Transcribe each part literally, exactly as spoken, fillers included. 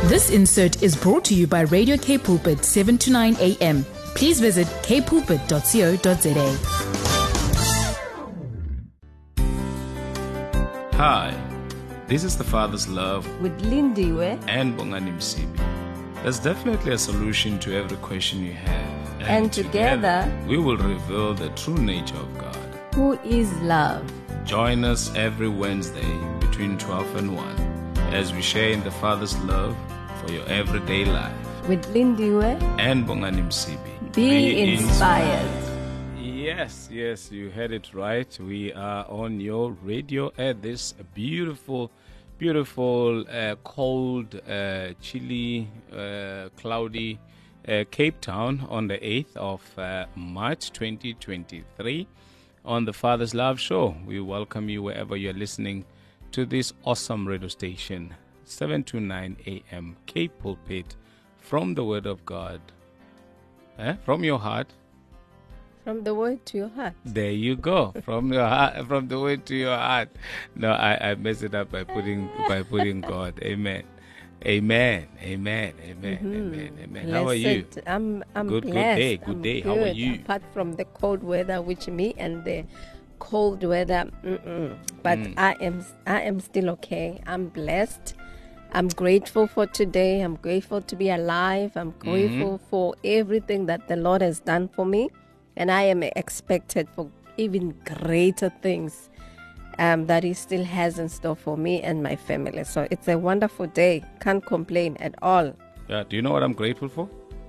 This insert is brought to you by Radio K Pulpit, seven to nine a.m. Please visit k pulpit dot co dot za. Hi, this is The Father's Love with Lindiwe and Bongani Msibi. There's definitely a solution to every question you have. And, and together, together, we will reveal the true nature of God, who is love. Join us every Wednesday between twelve and one as we share in the Father's love for your everyday life. With Lindiwe and Bongani Msibi. Be, Be inspired. inspired. Yes, yes, you heard it right. We are on your radio at this beautiful, beautiful, uh, cold, uh, chilly, uh, cloudy uh, Cape Town on the eighth of uh, March twenty twenty-three on the Father's Love Show. We welcome you wherever you're listening to this awesome radio station, seven to nine a.m. K Pulpit, from the Word of God, eh? From your heart. From the word to your heart. There you go. From your heart, from the word to your heart. No, I, I messed it up by putting by putting God. Amen. Amen. Amen. Amen. Mm-hmm. Amen. Amen. Blessed. How are you? I'm I'm good. blessed. Good day. Good I'm day. good. How are you? Apart from the cold weather, which me and the cold weather, mm-mm. but Mm. I am I am still okay. I'm blessed. I'm grateful for today. I'm grateful to be alive. I'm grateful mm-hmm. for everything that the Lord has done for me. And I am expected for even greater things um, that He still has in store for me and my family. So it's a wonderful day. Can't complain at all. Yeah. Do you know what I'm grateful for?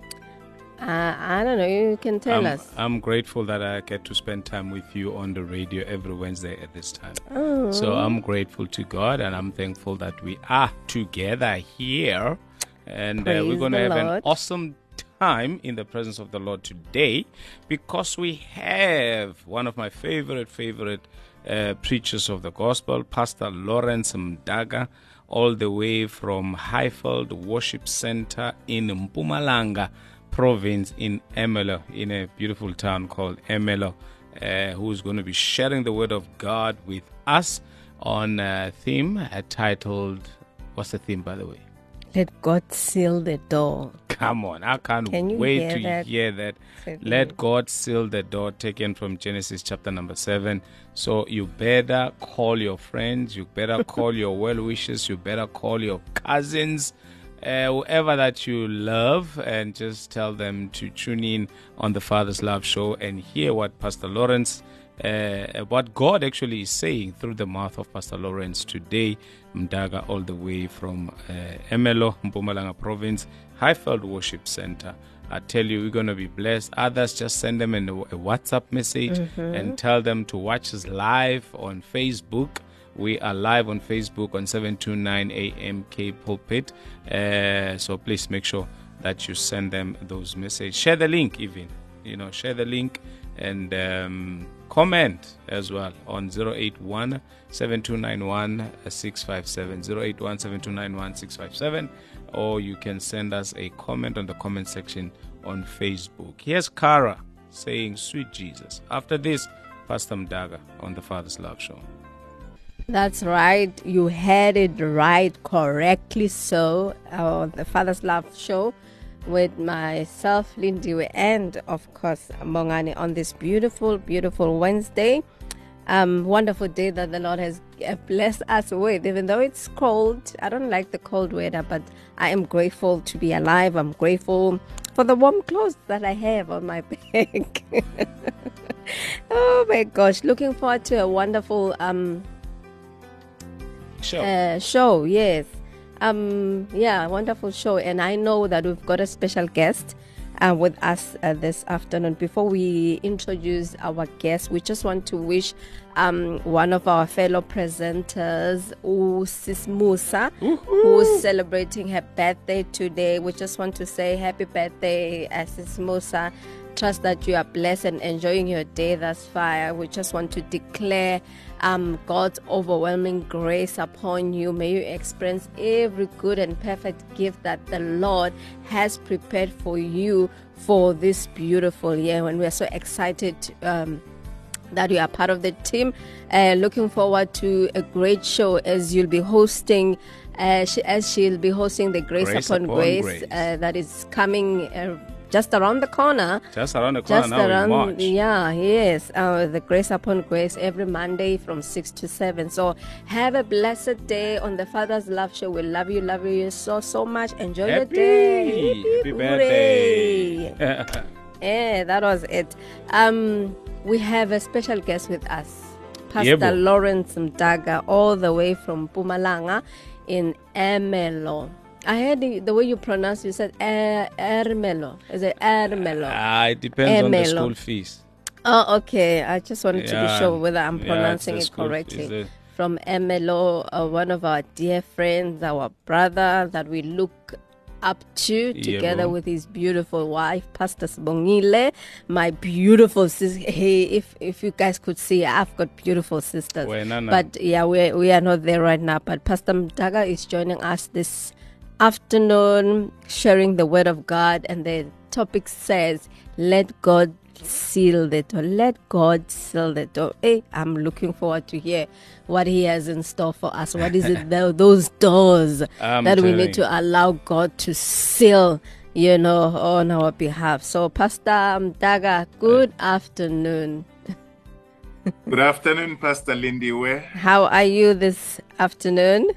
Uh, I don't know. You can tell I'm, us. I'm grateful that I get to spend time with you on the radio every Wednesday at this time. Oh. So I'm grateful to God, and I'm thankful that we are together here. And uh, we're going to have Lord. an awesome time in the presence of the Lord today, because we have one of my favorite, favorite uh, preachers of the gospel, Pastor Lawrence Mdaga, all the way from Highfield Worship Center in Mpumalanga province in Ermelo, in a beautiful town called Ermelo, uh, who's going to be sharing the word of God with us on a theme uh, titled, what's the theme, by the way? Let God seal the door. Come on, I can't Can you wait hear to that? hear that. Certainly. Let God seal the door, taken from Genesis chapter number seven. So you better call your friends, you better call your well-wishers, you better call your cousins, uh, whoever that you love, and just tell them to tune in on the Father's Love Show and hear what Pastor Lawrence Uh, what God actually is saying through the mouth of Pastor Lawrence today, Mdaga, all the way from uh, Ermelo, Mpumalanga province, Highfield Worship Center. I tell you, we're going to be blessed. Others, just send them in a, a WhatsApp message mm-hmm. and tell them to watch us live on Facebook. We are live on Facebook on seven to nine a.m. K Pulpit. Uh, so please make sure that you send them those messages. Share the link even. You know, share the link and um, comment as well on zero eight one, seven two nine one, six five seven, zero eight one, seven two nine one, six five seven, or you can send us a comment on the comment section on Facebook. Here's Kara saying, "Sweet Jesus." After this, Pastor Mdaga on the Father's Love Show. That's right. You had it right, correctly so. Uh, the Father's Love Show with myself, Lindiwe, and of course Mongani on this beautiful, beautiful Wednesday. Um, wonderful day that the Lord has blessed us with. Even though it's cold, I don't like the cold weather, but I am grateful to be alive. I'm grateful for the warm clothes that I have on my back. Oh my gosh, looking forward to a wonderful um show. Uh, show, yes. Um, yeah, wonderful show. And I know that we've got a special guest uh, with us uh, this afternoon. Before we introduce our guest, we just want to wish um, one of our fellow presenters, Sis Musa, who's celebrating her birthday today. We just want to say happy birthday, uh, Sis Musa. Trust that you are blessed and enjoying your day thus far. We just want to declare um, God's overwhelming grace upon you. May you experience every good and perfect gift that the Lord has prepared for you for this beautiful year. And we are so excited um, that you are part of the team. Uh, looking forward to a great show as you'll be hosting, uh, she, as she'll be hosting the Grace, Grace Upon, Upon Grace, Grace. Uh, that is coming uh, just around the corner. Just around the corner Just now around, in March. yeah, yes. Uh, the Grace Upon Grace every Monday from six to seven. So have a blessed day on the Father's Love Show. We love you, love you so, so much. Enjoy your Happy, day. happy birthday. Yeah, that was it. Um, we have a special guest with us, Pastor Yebo. Lawrence Mdaga, all the way from Mpumalanga in Ermelo. I heard the, the way you pronounce it, you said er, Ermelo. Is it Ermelo? Ah, it depends on the Ermelo. school fees. Oh, okay. I just wanted to Yeah. be sure whether I'm Yeah, pronouncing it's it the school- correctly. it's the- From Ermelo, uh, one of our dear friends, our brother that we look up to, together Yebo. with his beautiful wife, Pastor Sibongile, my beautiful sister. Hey, if if you guys could see, I've got beautiful sisters. Wena na. But yeah, we we are not there right now. But Pastor Mdaga is joining us this afternoon, sharing the word of God, and the topic says, "Let God seal the door. Let God seal the door." Hey, I'm looking forward to hear what He has in store for us. What is it, tho- those doors I'm that we telling need you. to allow God to seal, you know, on our behalf? So, Pastor Mdaga, good afternoon. Good afternoon, Pastor Lindiwe. How are you this afternoon?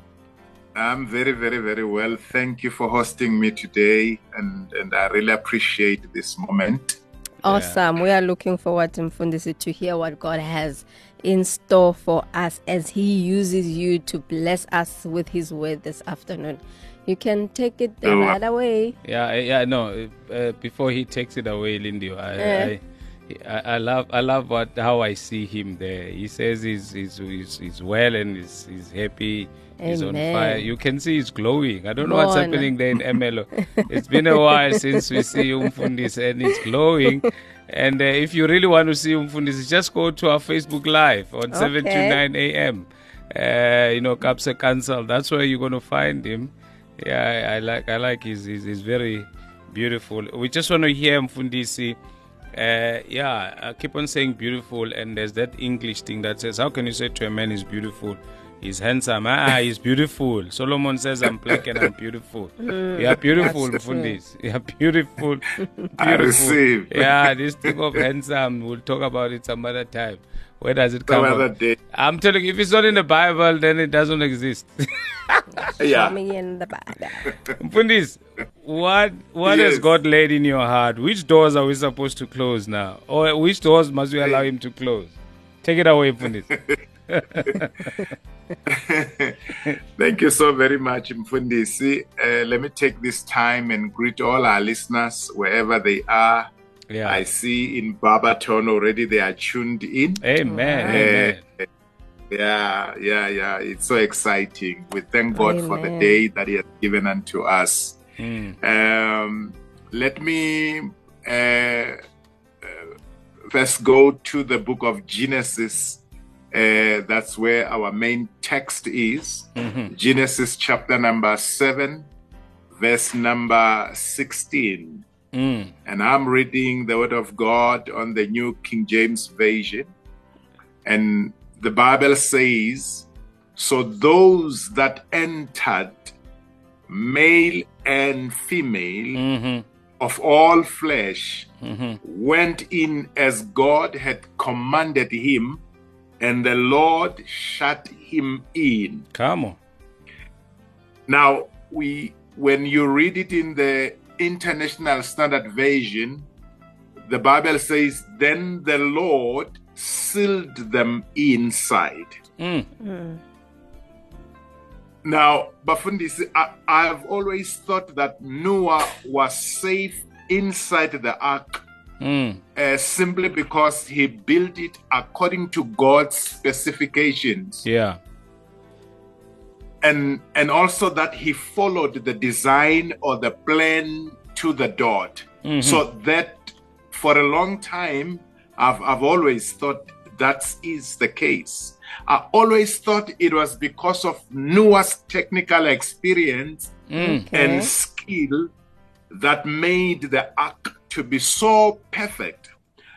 I'm very, very, very well. Thank you for hosting me today, and, and I really appreciate this moment. Awesome. We are looking forward to Mfundisi to hear what God has in store for us as He uses you to bless us with His word this afternoon. You can take it Oh, right away. Yeah, yeah, no. Uh, before he takes it away, Lindy, I, Eh. I, I, I love, I love what how I see him there. He says he's he's he's, he's well and he's, he's happy. He's on Amen. fire. You can see he's glowing. I don't know what's Bona. happening there in Ermelo. It's been a while since we see Umfundisi and he's glowing. And uh, if you really want to see Umfundisi, just go to our Facebook Live on seven to Okay. nine a.m. Uh, you know, Kapsa Council. That's where you're going to find him. Yeah, I, I like I like his, his, his very beautiful. We just want to hear Mfundisi. Uh, yeah, I keep on saying beautiful, and there's that English thing that says, how can you say to a man he's beautiful? He's handsome. Ah, he's beautiful. Solomon says, I'm black and I'm beautiful. You are beautiful, that's true. Mfundisi. You are beautiful. beautiful. I receive. Yeah, this thing of handsome, we'll talk about it some other time. Where does it come Some from? other day. I'm telling you, if it's not in the Bible, then it doesn't exist. Yeah. Show me in the Bible. Mfundisi, what what has Yes. God laid in your heart? Which doors are we supposed to close now? Or which doors must we allow Him to close? Take it away, Mfundisi. Thank you so very much, Mfundisi. Uh, let me take this time and greet all our listeners wherever they are. Yeah. I see in Barberton already they are tuned in. Amen. Amen. Uh, yeah, yeah, yeah. It's so exciting. We thank God for the Amen. day that He has given unto us. Mm. Um, let me uh, uh, first go to the book of Genesis. Uh, that's where our main text is. Mhm. Genesis chapter number seven, verse number sixteen. Mm. And I'm reading the word of God on the New King James Version. And the Bible says, so those that entered, male and female, Mhm. of all flesh, Mhm. went in as God had commanded him, and the Lord shut him in. Come on. Now, we when you read it in the International Standard Version, the Bible says, then the Lord sealed them inside. Mm. Now, Bafundisi, I, I've always thought that Noah was safe inside the ark Mm. uh, simply because he built it according to God's specifications. Yeah. And, and also that he followed the design or the plan to the dot. Mhm. So that for a long time, I've, I've always thought that is the case. I always thought it was because of Noah's technical experience Mm. Okay. and skill that made the ark to be so perfect.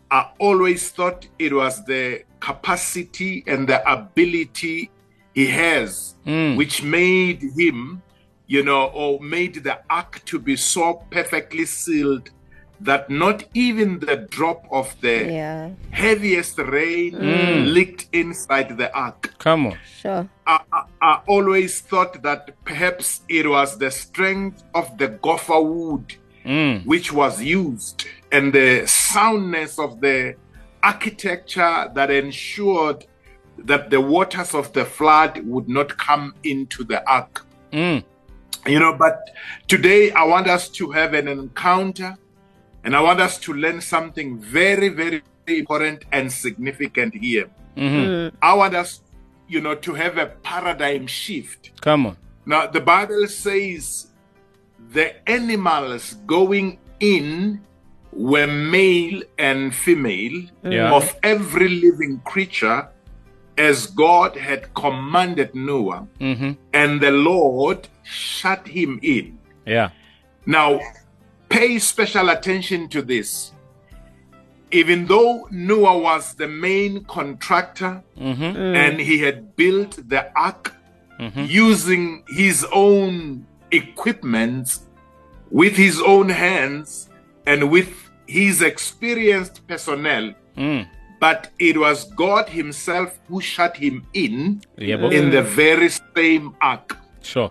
I always thought it was the capacity and the ability he has, Mm. which made him, you know, or made the ark to be so perfectly sealed that not even the drop of the Yeah. heaviest rain leaked inside the ark. Come on. Sure. I, I, I always thought that perhaps it was the strength of the gopher wood Mm. which was used and the soundness of the architecture that ensured that the waters of the flood would not come into the ark. Mm. You know, but today I want us to have an encounter and I want us to learn something very, very important and significant here. Mm-hmm. I want us, you know, to have a paradigm shift. Come on. Now, the Bible says the animals going in were male and female Yeah. of every living creature as God had commanded Noah, Mm-hmm. and the Lord shut him in. Yeah. Now, pay special attention to this. Even though Noah was the main contractor Mm-hmm. and he had built the ark Mm-hmm. using his own equipment, with his own hands, and with his experienced personnel, Mm. but it was God himself who shut him in Yeah, but- in the very same ark. Sure.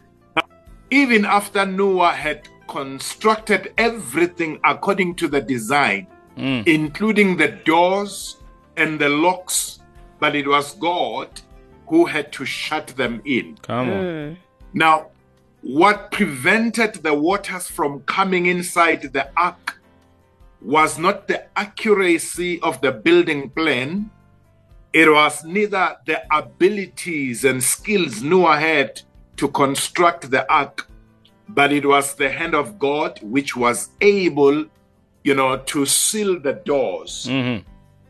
Even after Noah had constructed everything according to the design, Mm. including the doors and the locks, but it was God who had to shut them in. Come on. Now, what prevented the waters from coming inside the ark was not the accuracy of the building plan. It was neither the abilities and skills Noah had to construct the ark, but it was the hand of God which was able, you know, to seal the doors. Mm-hmm.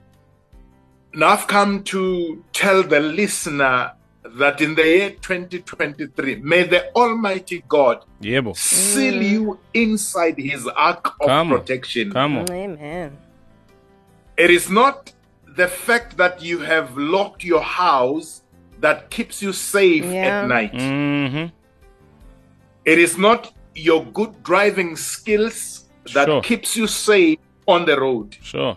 Now I've come to tell the listener that in the year twenty twenty-three, may the Almighty God Yeah, bo. seal you inside his ark of Come on. protection. Come on. Amen. It is not the fact that you have locked your house that keeps you safe Yeah. at night. Mm-hmm. It is not your good driving skills that Sure. keeps you safe on the road. Sure.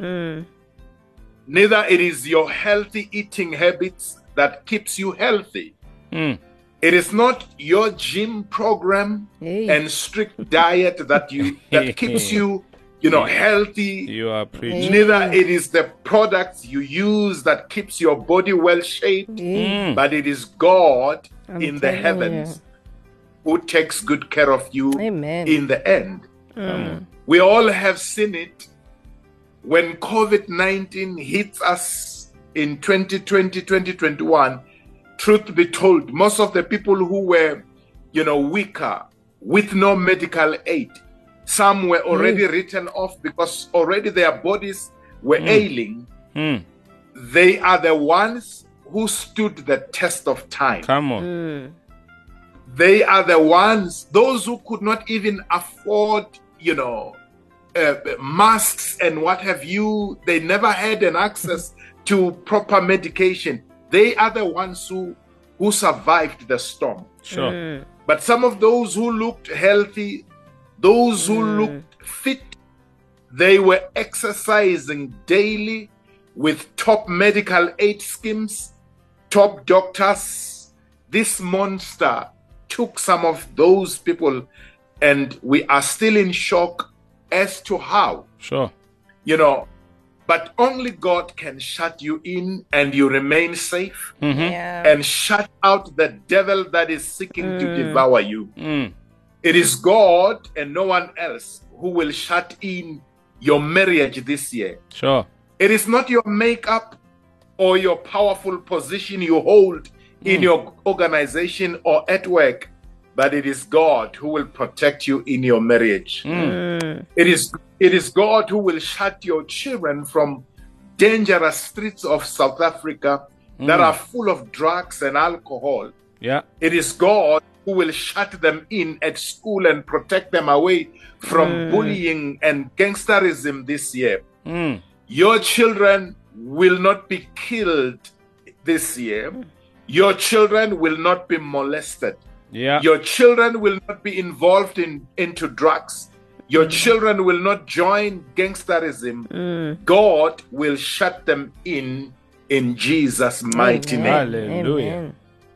Neither it is your healthy eating habits that keeps you healthy. Mm. It is not your gym program Hey. and strict diet that you that keeps you, you know, healthy. You are preaching. Neither it is the products you use that keeps your body well shaped, Mm. but it is God I'm in the telling heavens who takes good care of you Amen. in the end. We all have seen it when COVID nineteen hits us in twenty twenty, twenty twenty-one. Truth be told, most of the people who were, you know, weaker with no medical aid, some were already written off because already their bodies were ailing. Mm. They are the ones who stood the test of time. Come on. They are the ones, those who could not even afford, you know, uh, masks and what have you. They never had an access to proper medication. They are the ones who, who survived the storm. Sure. But some of those who looked healthy, those who looked fit, they were exercising daily with top medical aid schemes, top doctors. This monster took some of those people, and we are still in shock as to how, Sure. you know, but only God can shut you in and you remain safe Yeah. and shut out the devil that is seeking to devour you. Mm. It is God and no one else who will shut in your marriage this year. Sure. It is not your makeup or your powerful position you hold in your organization or at work, but it is God who will protect you in your marriage. It is it is God who will shut your children from dangerous streets of South Africa that are full of drugs and alcohol. Yeah. It is God who will shut them in at school and protect them away from bullying and gangsterism this year. Mm. Your children will not be killed this year. Your children will not be molested. Yeah. Your children will not be involved in into drugs. Your children will not join gangsterism. Mm. God will shut them in in Jesus' mighty Amen. name. Hallelujah. Amen.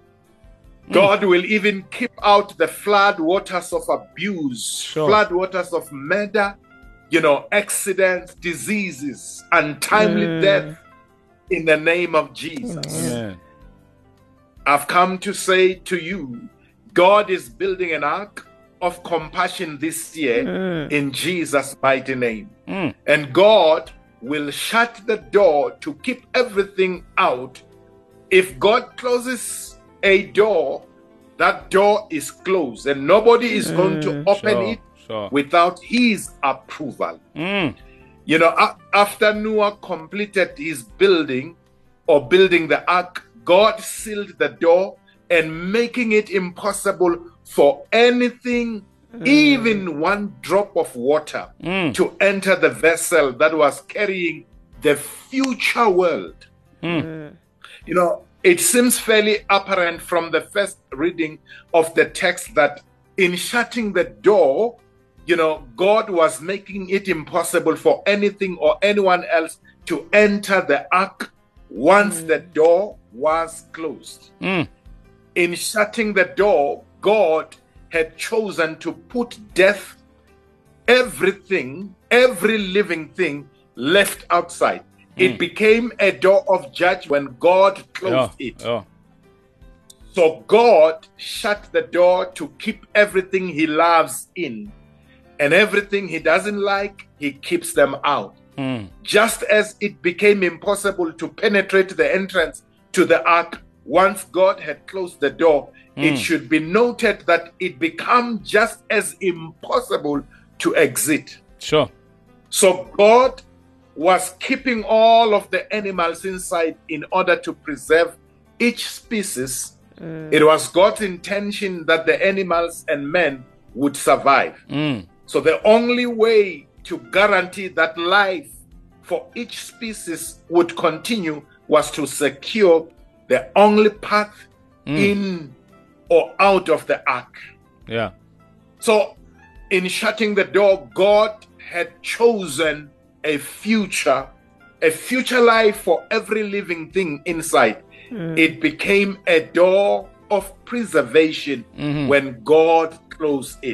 God will even keep out the flood waters of abuse, Sure. flood waters of murder, you know, accidents, diseases, untimely death in the name of Jesus. Amen. I've come to say to you, God is building an ark of compassion this year in Jesus' mighty name. Mm. And God will shut the door to keep everything out. If God closes a door, that door is closed, and nobody is going to open Sure, it sure. without his approval. Mm. You know, a- after Noah completed his building or building the ark, God sealed the door and making it impossible for anything, even one drop of water, Mm. to enter the vessel that was carrying the future world. Mm. You know, it seems fairly apparent from the first reading of the text that in shutting the door, you know, God was making it impossible for anything or anyone else to enter the ark once the door was closed. Mm. In shutting the door, God had chosen to put death, everything, every living thing left outside. It became a door of judgment when God closed Yeah. it. Yeah. So God shut the door to keep everything he loves in, and everything he doesn't like, he keeps them out. Mm. Just as it became impossible to penetrate the entrance to the ark once God had closed the door, it should be noted that it became just as impossible to exit. Sure. So God was keeping all of the animals inside in order to preserve each species. It was God's intention that the animals and men would survive. Mm. So the only way to guarantee that life for each species would continue was to secure the only path in or out of the ark. Yeah. So in shutting the door, God had chosen a future, a future life for every living thing inside. It became a door of preservation when God closed it.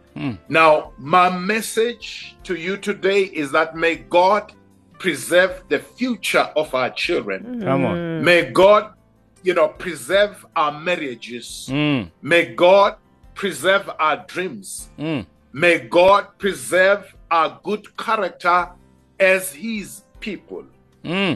Now, my message to you today is that may God preserve the future of our children. Come on. May God, you know, preserve our marriages. Mm. May God preserve our dreams. Mm. May God preserve our good character as his people. Mm.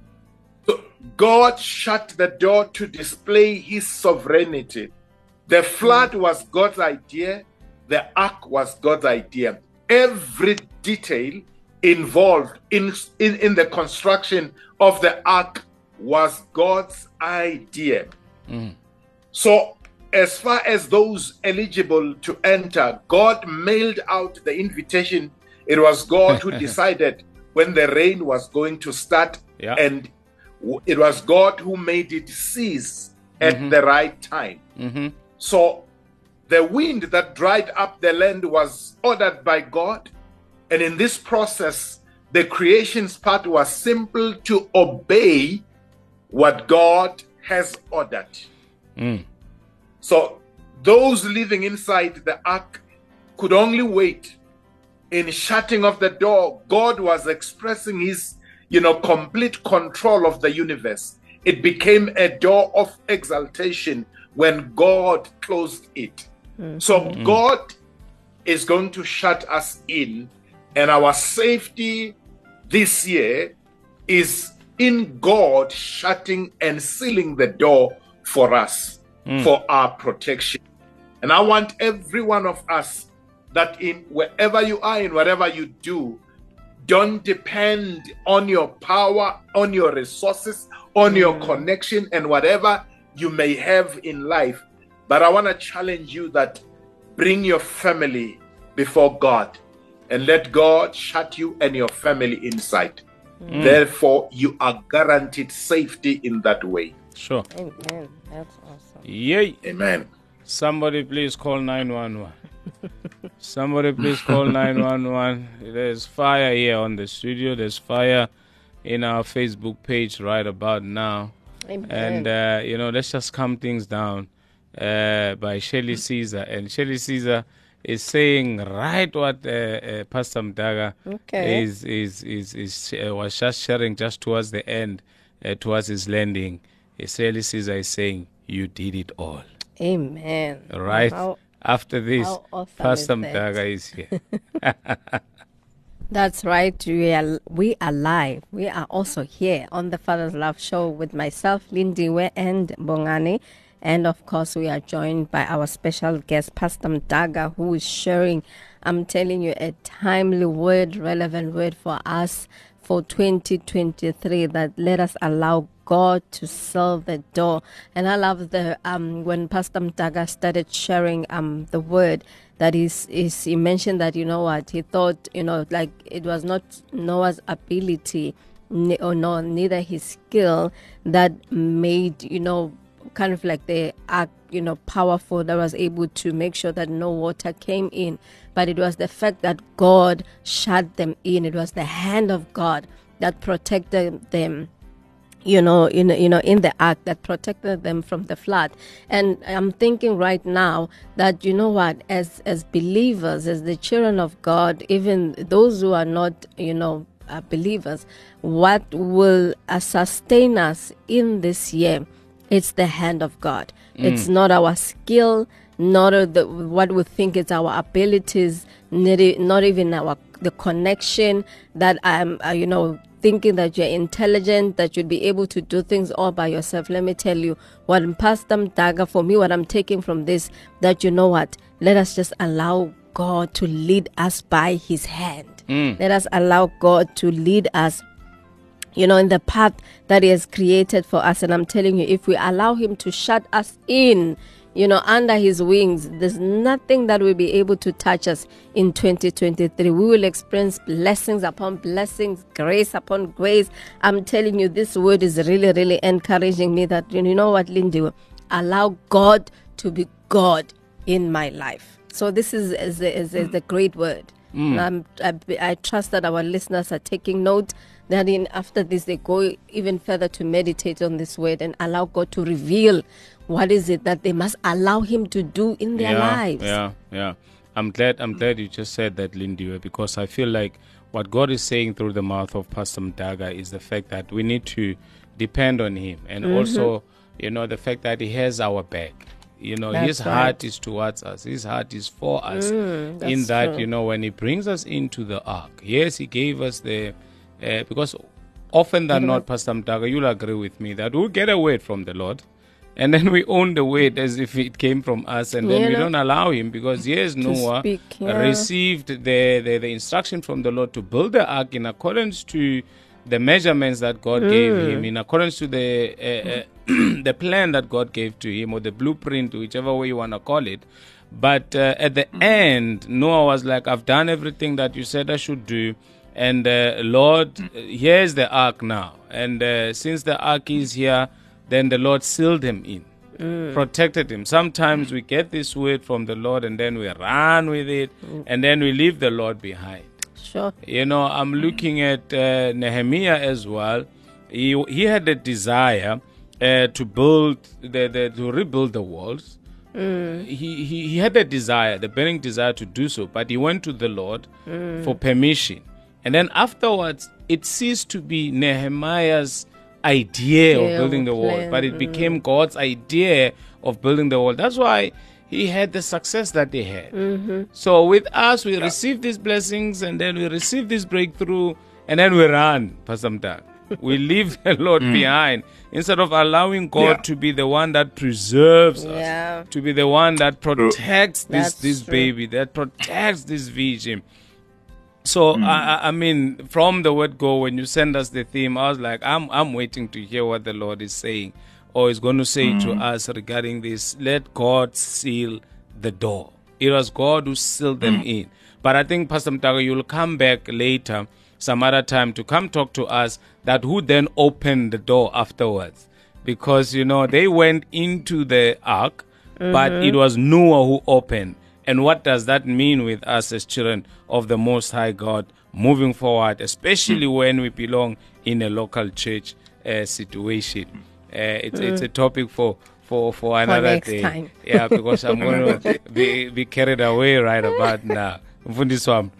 So God shut the door to display his sovereignty. The flood was God's idea. The ark was God's idea. Every detail involved in, in, in the construction of the ark was God's idea. Mm. So as far as those eligible to enter, God mailed out the invitation. It was God who decided when the rain was going to start, Yeah. and w- it was God who made it cease at the right time. Mm-hmm. So the wind that dried up the land was ordered by God. And in this process, the creation's part was simple to obey what God has ordered. Mm. So those living inside the ark could only wait. In shutting of the door, God was expressing his, you know, complete control of the universe. It became a door of exaltation when God closed it. So God is going to shut us in, and our safety this year is in God shutting and sealing the door for us, for our protection. And I want every one of us that in wherever you are, in whatever you do, don't depend on your power, on your resources, on your connection, and whatever you may have in life. But I want to challenge you that bring your family before God and let God shut you and your family inside. Mm. Therefore, you are guaranteed safety in that way. Sure. Amen. That's awesome. Yay. Amen. Somebody please call nine one one. Somebody please call nine one one. There's fire here on the studio. There's fire in our Facebook page right about now. Amen. And, uh, you know, let's just calm things down uh, by Shelly Caesar. And Shelly Caesar is saying right what uh, uh, Pastor Mdaga Okay. is, is, is, is, uh, was just sharing just towards the end, uh, towards his landing. Shelly Caesar is saying, you did it all. Amen. Right? How, After this, how awesome Pastor is that? Mdaga is here. That's right. We are, we are live. We are also here on the Father's Love Show with myself, Lindiwe, and Bongani. And of course, we are joined by our special guest, Pastor Mdaga, who is sharing, I'm telling you, a timely word, relevant word for us for twenty twenty-three, that let us allow God to seal the door. And I love the um when Pastor Mdaga started sharing um the word, that is is he mentioned that, you know what, he thought, you know, like it was not Noah's ability ne- or no neither his skill that made, you know, kind of like the ark, you know, powerful, that was able to make sure that no water came in, but it was the fact that God shut them in. It was the hand of God that protected them, you know, in you know, in the ark, that protected them from the flood. And I'm thinking right now that, you know what, as as believers, as the children of God, even those who are not, you know, uh, believers, what will uh, sustain us in this year? It's the hand of God. Mm. It's not our skill, not uh, the, what we think it's our abilities, not, not even our the connection that I'm, uh, you know, thinking that you're intelligent, that you'd be able to do things all by yourself. Let me tell you, what Pastor Mdaga, for me, what I'm taking from this, that, you know what, let us just allow God to lead us by his hand. Mm. Let us allow God to lead us, you know, in the path that he has created for us. And I'm telling you, if we allow him to shut us in, you know, under his wings, there's nothing that will be able to touch us in twenty twenty-three. We will experience blessings upon blessings, grace upon grace. I'm telling you, this word is really, really encouraging me that, you know what, Lindy, allow God to be God in my life. So this is, is, a, is, a, is a great word. Mm. Um, I, I trust that our listeners are taking note, that in after this they go even further to meditate on this word and allow God to reveal what is it that they must allow him to do in their yeah, lives. Yeah, yeah. I'm glad I'm glad you just said that, Lindy, because I feel like what God is saying through the mouth of Pastor Mdaga is the fact that we need to depend on him, and mm-hmm. also, you know, the fact that he has our back. You know, that's his heart right. is towards us. His heart is for us. Mm, in that, true. You know, when he brings us into the ark, yes, he gave us the, uh, because often than mm-hmm. not, Pastor Mdaga, you'll agree with me that we'll get a word from the Lord, and then we own the word as if it came from us, and then you we know, don't allow him, because yes, Noah speak, yeah. received the, the, the instruction from the Lord to build the ark in accordance to the measurements that God mm. gave him, in accordance to the uh, uh, the plan that God gave to him, or the blueprint, whichever way you want to call it. But uh, at the mm. end, Noah was like, I've done everything that you said I should do, and uh, Lord, here's the ark now. And uh, since the ark is here, then the Lord sealed him in, mm. protected him. Sometimes we get this word from the Lord and then we run with it, mm. and then we leave the Lord behind. Sure. You know, I'm looking at uh, Nehemiah as well. He he had a desire uh, to build the, the to rebuild the walls. Mm. He, he he had the desire, the burning desire to do so, but he went to the Lord mm. for permission. And then afterwards, it ceased to be Nehemiah's idea yeah, of building the wall, but it mm. became God's idea of building the wall. That's why he had the success that he had. Mm-hmm. So with us, we yeah. receive these blessings, and then we receive this breakthrough, and then we run, Pastor Mdaga. We leave the Lord mm. behind, instead of allowing God yeah. to be the one that preserves yeah. us, to be the one that protects this, That's this true. baby, that protects this vision. So, mm. I, I mean, from the word go, when you send us the theme, I was like, I'm I'm waiting to hear what the Lord is saying, or is going to say mm. to us regarding this. Let God seal the door. It was God who sealed them mm. in. But I think, Pastor Mdaga, you'll come back later some other time to come talk to us that who then opened the door afterwards. Because, you know, they went into the ark, mm-hmm. but it was Noah who opened. And what does that mean with us as children of the Most High God moving forward, especially mm. when we belong in a local church uh, situation? Uh, it's mm. it's a topic for for, for another for next day. Time. Yeah, because I'm going to be, be carried away right about now. Mm,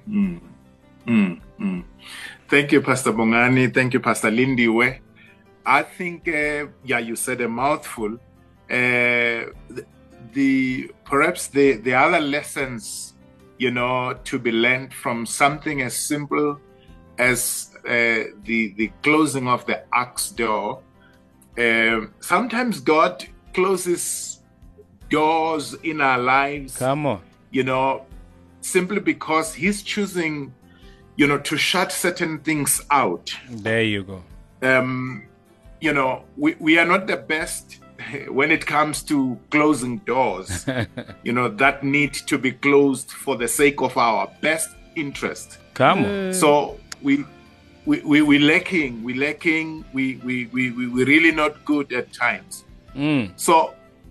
mm, mm. Thank you, Pastor Bongani. Thank you, Pastor Lindiwe. I think, uh, yeah, you said a mouthful. Uh, the, the perhaps the, the other lessons, you know, to be learned from something as simple as uh, the the closing of the ark's door. Uh, sometimes God closes doors in our lives. Come on, you know, simply because He's choosing, you know, to shut certain things out. There you go. Um, you know, we, we are not the best when it comes to closing doors, you know, that need to be closed for the sake of our best interest. Come on. Mm. So we we we we lacking, we lacking, we we we we we really not good at times. Mm. So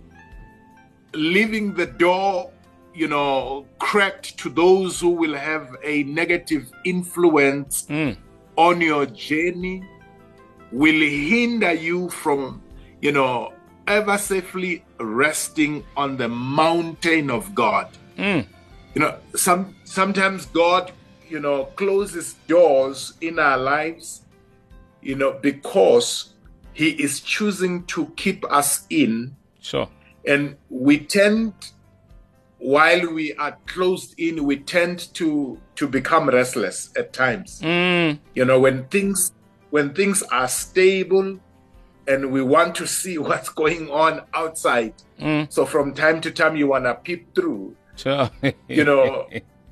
leaving the door, you know, cracked to those who will have a negative influence mm. on your journey will hinder you from, you know, ever safely resting on the mountain of God. Mm. You know, some sometimes God, you know, closes doors in our lives, you know, because He is choosing to keep us in. Sure. And we tend, while we are closed in, we tend to to become restless at times. Mm. You know, when things when things are stable, and we want to see what's going on outside. Mm. So from time to time, you want to peep through. Sure. You know,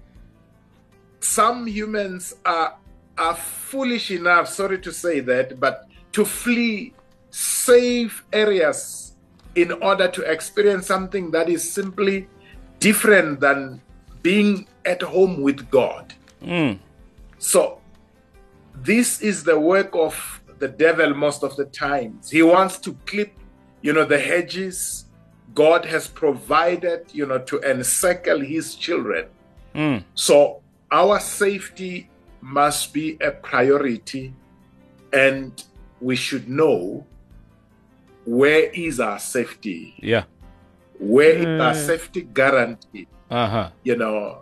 some humans are are foolish enough, sorry to say that, but to flee safe areas in order to experience something that is simply different than being at home with God. Mm. So this is the work of the devil most of the times. He wants to clip, you know, the hedges God has provided, you know, to encircle His children. Mm. So our safety must be a priority, and we should know where is our safety. Yeah. Where Mm. is our safety guarantee? Uh-huh. You know,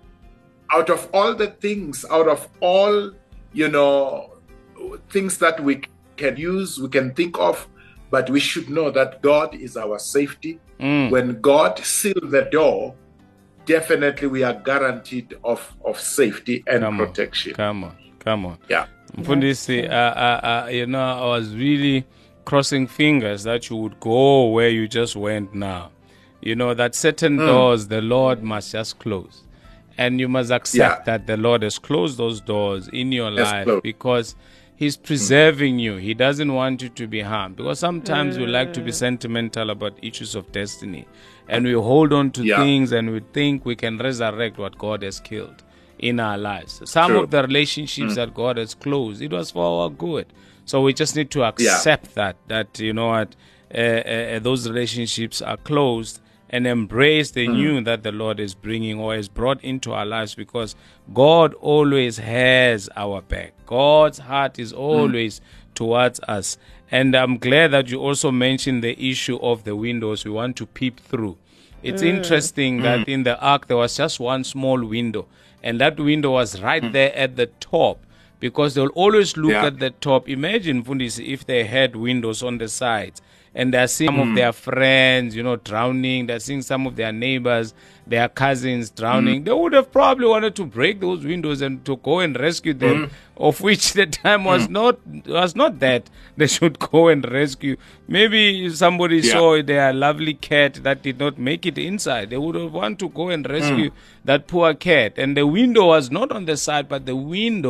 out of all the things, out of all, you know, things that we can use, we can think of, but we should know that God is our safety. Mm. When God seals the door, definitely we are guaranteed of, of safety and Come protection. On. Come on, come on. Yeah. Mfundisi, uh, uh, uh, you know, I was really crossing fingers that you would go where you just went now. You know, that certain mm. doors the Lord must just close. And you must accept yeah. that the Lord has closed those doors in your That's life closed. because He's preserving mm. you. He doesn't want you to be harmed. Because sometimes mm. we like to be sentimental about issues of destiny. And we hold on to yeah. things and we think we can resurrect what God has killed in our lives. Some True. of the relationships mm. that God has closed, it was for our good. So we just need to accept yeah. that, that, you know what, uh, uh, those relationships are closed, and embrace the mm. new that the Lord is bringing or has brought into our lives, because God always has our back. God's heart is always mm. towards us. And I'm glad that you also mentioned the issue of the windows we want to peep through. It's mm. interesting mm. that in the ark there was just one small window, and that window was right mm. there at the top, because they'll always look yeah. at the top. Imagine, Fundisi, if they had windows on the sides, and they're seeing some mm. of their friends, you know, drowning. They're seeing some of their neighbors, their cousins drowning. Mm. They would have probably wanted to break those windows and to go and rescue them, mm. of which the time was mm. not was not that they should go and rescue. Maybe somebody yeah. saw their lovely cat that did not make it inside. They would have wanted to go and rescue mm. that poor cat. And the window was not on the side, but the window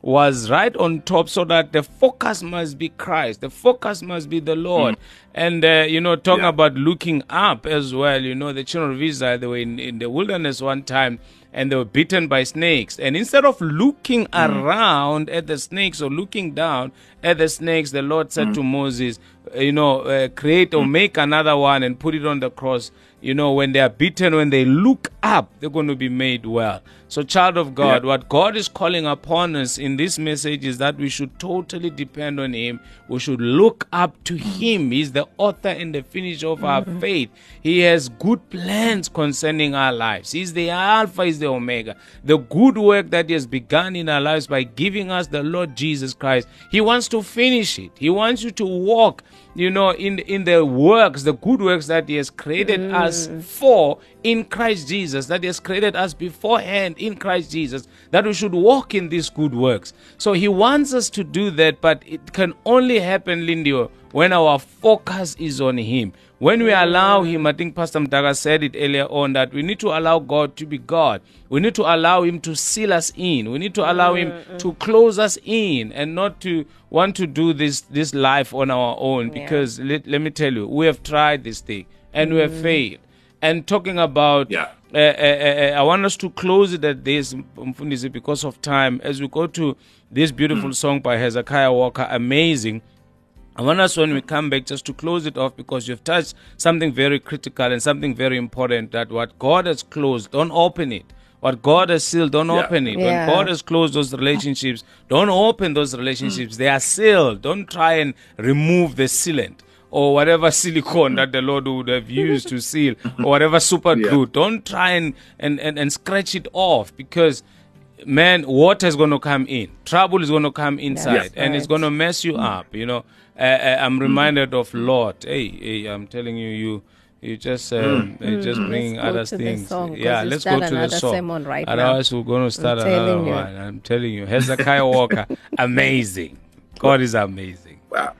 was right on top, so that the focus must be Christ. The focus must be the Lord. Mm. And, uh, you know, talking yeah. about looking up as well, you know, the children of Israel, they were in, in the wilderness one time, and they were bitten by snakes. And instead of looking mm. around at the snakes or looking down at the snakes, the Lord said mm. to Moses, you know, uh, create or make another one and put it on the cross. You know, when they are beaten, when they look up, they're going to be made well. So, child of God, yeah. what God is calling upon us in this message is that we should totally depend on Him. We should look up to Him. He's the author and the finisher of our mm-hmm. faith. He has good plans concerning our lives. He's the Alpha, He's the Omega. The good work that He has begun in our lives by giving us the Lord Jesus Christ, He wants to finish it. He wants you to walk, you know, in, in the works, the good works that He has created mm. us for in Christ Jesus, that He has created us beforehand in Christ Jesus, that we should walk in these good works. So He wants us to do that, but it can only happen, Lindy, when our focus is on Him. When we allow Him, I think Pastor Mdaga said it earlier on, that we need to allow God to be God. We need to allow Him to seal us in. We need to allow Him to close us in, and not to want to do this, this life on our own. Because yeah. let, let me tell you, we have tried this thing and mm. we have failed. And talking about, yeah. uh, uh, uh, I want us to close it at this, because of time, as we go to this beautiful mm. song by Hezekiah Walker, Amazing. I want us, when we come back, just to close it off, because you've touched something very critical and something very important, that what God has closed, don't open it. What God has sealed, don't yeah. open it. Yeah. When God has closed those relationships, don't open those relationships. Mm. They are sealed. Don't try and remove the sealant, or whatever silicone that the Lord would have used to seal, or whatever super glue. Yeah. Don't try and, and, and, and scratch it off, because, man, water is going to come in. Trouble is going to come inside, yes, and right. it's going to mess you mm. up, you know. Uh, I'm reminded mm. of Lot. Hey, hey, I'm telling you, you you just um, mm. you just mm. bringing other things. Song, yeah, let's go to the song. Right Otherwise, now. we're going to start I'm another one. I'm telling you, Hezekiah Walker, amazing. God is amazing. Wow.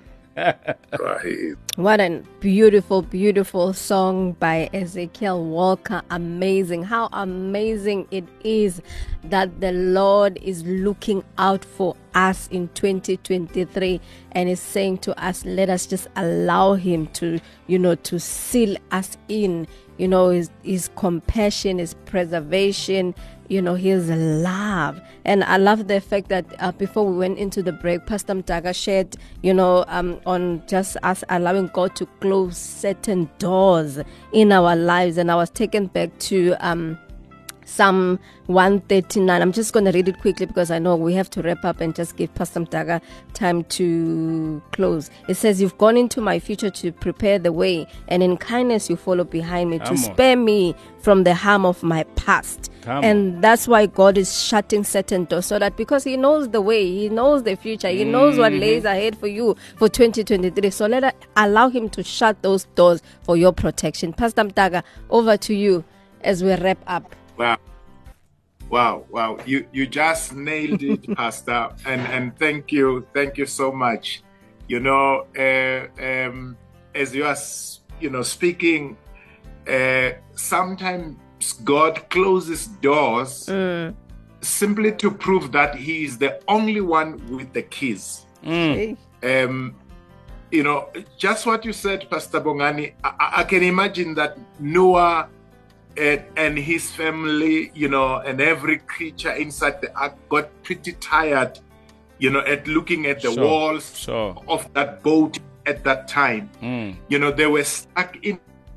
What a beautiful, beautiful song by Ezekiel Walker. Amazing. How amazing it is that the Lord is looking out for us in twenty twenty-three and is saying to us, let us just allow Him to, you know, to seal us in, you know, His, his compassion, His preservation, you know, His love. And I love the fact that uh, before we went into the break, Pastor Mdaga shared, you know, um, on just us allowing God to close certain doors in our lives. And I was taken back to um, Psalm one thirty-nine. I'm just going to read it quickly, because I know we have to wrap up and just give Pastor Mdaga time to close. It says, you've gone into my future to prepare the way, and in kindness you follow behind me, Come to on. spare me from the harm of my past. Come and on. That's why God is shutting certain doors, so that because He knows the way, He knows the future, He mm-hmm. knows what lays ahead for you for twenty twenty-three. So let us allow Him to shut those doors for your protection. Pastor Mdaga, over to you as we wrap up. Wow. Wow, wow. You you just nailed it, Pastor. And and thank you. Thank you so much. You know, uh, um, as you are, you know, speaking, uh, sometimes God closes doors mm. simply to prove that He is the only one with the keys. Mm. Um, you know, just what you said, Pastor Bongani, I, I can imagine that Noah And, and his family, you know, and every creature inside the ark got pretty tired, you know, at looking at the sure, walls sure. of that boat at that time. Mm. You know, they were stuck in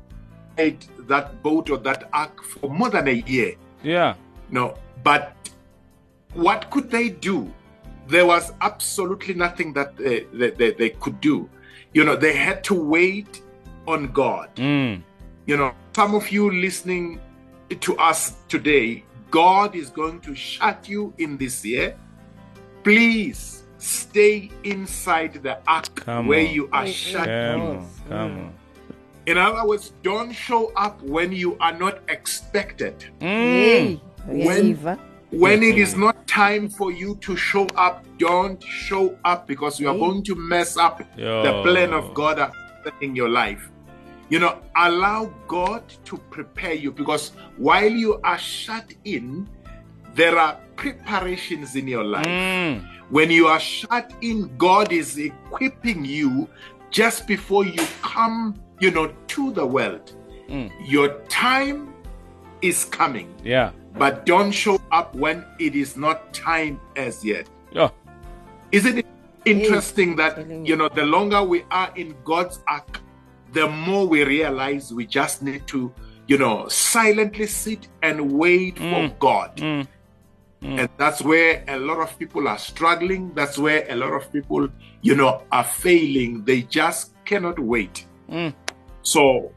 that boat or that ark for more than a year. Yeah. No, but what could they do? There was absolutely nothing that they, they, they, they could do. You know, they had to wait on God. Mm. You know, some of you listening to us today, God is going to shut you in this year. Please stay inside the ark come where on. you are shut in. Come on, come on. In other words, don't show up when you are not expected. Mm. When, when it is not time for you to show up, don't show up, because you are going to mess up Yo. the plan of God in your life. You know, allow God to prepare you, because while you are shut in, there are preparations in your life. Mm. When you are shut in, God is equipping you just before you come, you know, to the world. Mm. Your time is coming. Yeah. But don't show up when it is not time as yet. Yeah. Isn't it interesting that, telling you know, the longer we are in God's ark, the more we realize we just need to, you know, silently sit and wait Mm. for God. Mm. Mm. And that's where a lot of people are struggling. That's where a lot of people, you know, are failing. They just cannot wait. Mm. So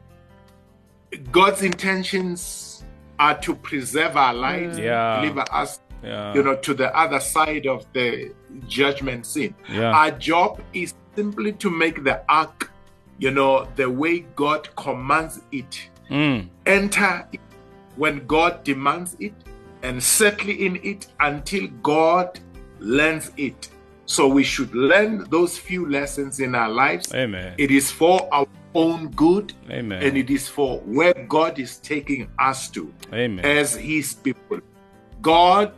God's intentions are to preserve our lives, Yeah. deliver us, Yeah. you know, to the other side of the judgment scene. Yeah. Our job is simply to make the ark, you know, the way God commands it. Mm. Enter it when God demands it and settle in it until God learns it. So we should learn those few lessons in our lives. Amen. It is for our own good, Amen. and it is for where God is taking us to Amen. as His people. God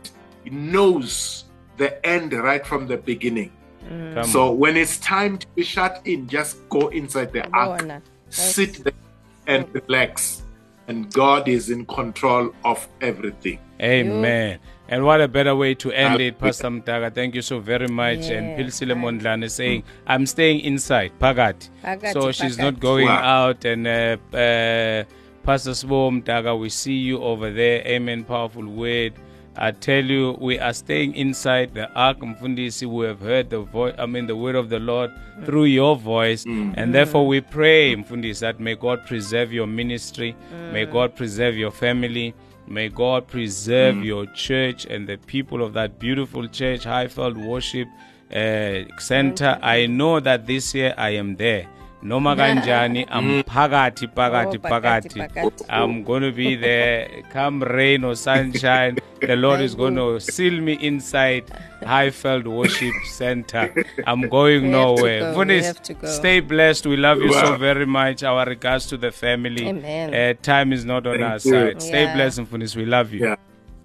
knows the end right from the beginning. Come So on. when it's time to be shut in, just go inside the ark, Bona. sit there and relax. And God is in control of everything. Amen. And what a better way to end it, Hallelujah. Pastor Mtaga. Thank you so very much. And Yes, Pilsile Mondlane saying, I'm staying inside, Pagati. Phakathi, So she's phakathi. not going Wow. out. And uh, uh, Pastor Sbo Mtaga, we see you over there. Amen. Powerful word. I tell you, we are staying inside the ark. Mfundisi, we have heard the voice, I mean, the word of the Lord through your voice. And therefore we pray, Mfundisi, that may God preserve your ministry. May God preserve your family. May God preserve your church and the people of that beautiful church, Highfield Worship uh, Center. I know that this year I am there. Noma kanjani, I'm pagati, pagati, Oh, phakathi, pagati. phakathi. I'm going to be there. Come rain or sunshine, the Lord is going to seal me inside Highfield Worship Center. I'm going We have to nowhere. go, we Funis, have to go. stay blessed. We love you so Wow. very much. Our regards to the family. Amen. Uh, time is not on Thank our you. side. Stay Yeah. blessed, Funis. We love you. Yeah.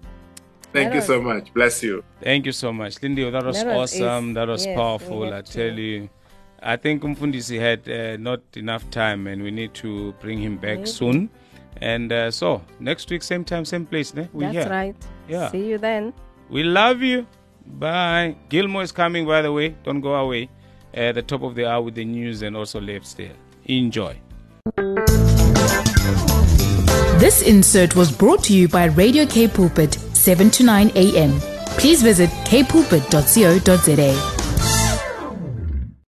Thank you so much. Bless you. Thank you so much. Lindy, that was That was awesome. is- That was yes, powerful. we I have to- tell you. I think Umfundisi had uh, not enough time and we need to bring him back Maybe. soon. And uh, so, next week, same time, same place. Ne? We That's here. right. Yeah. See you then. We love you. Bye. Gilmore is coming, by the way. Don't go away. At the top of the hour with the news and also left still. Enjoy. This insert was brought to you by Radio K Pulpit, seven to nine a.m. Please visit k pulpit dot co dot za.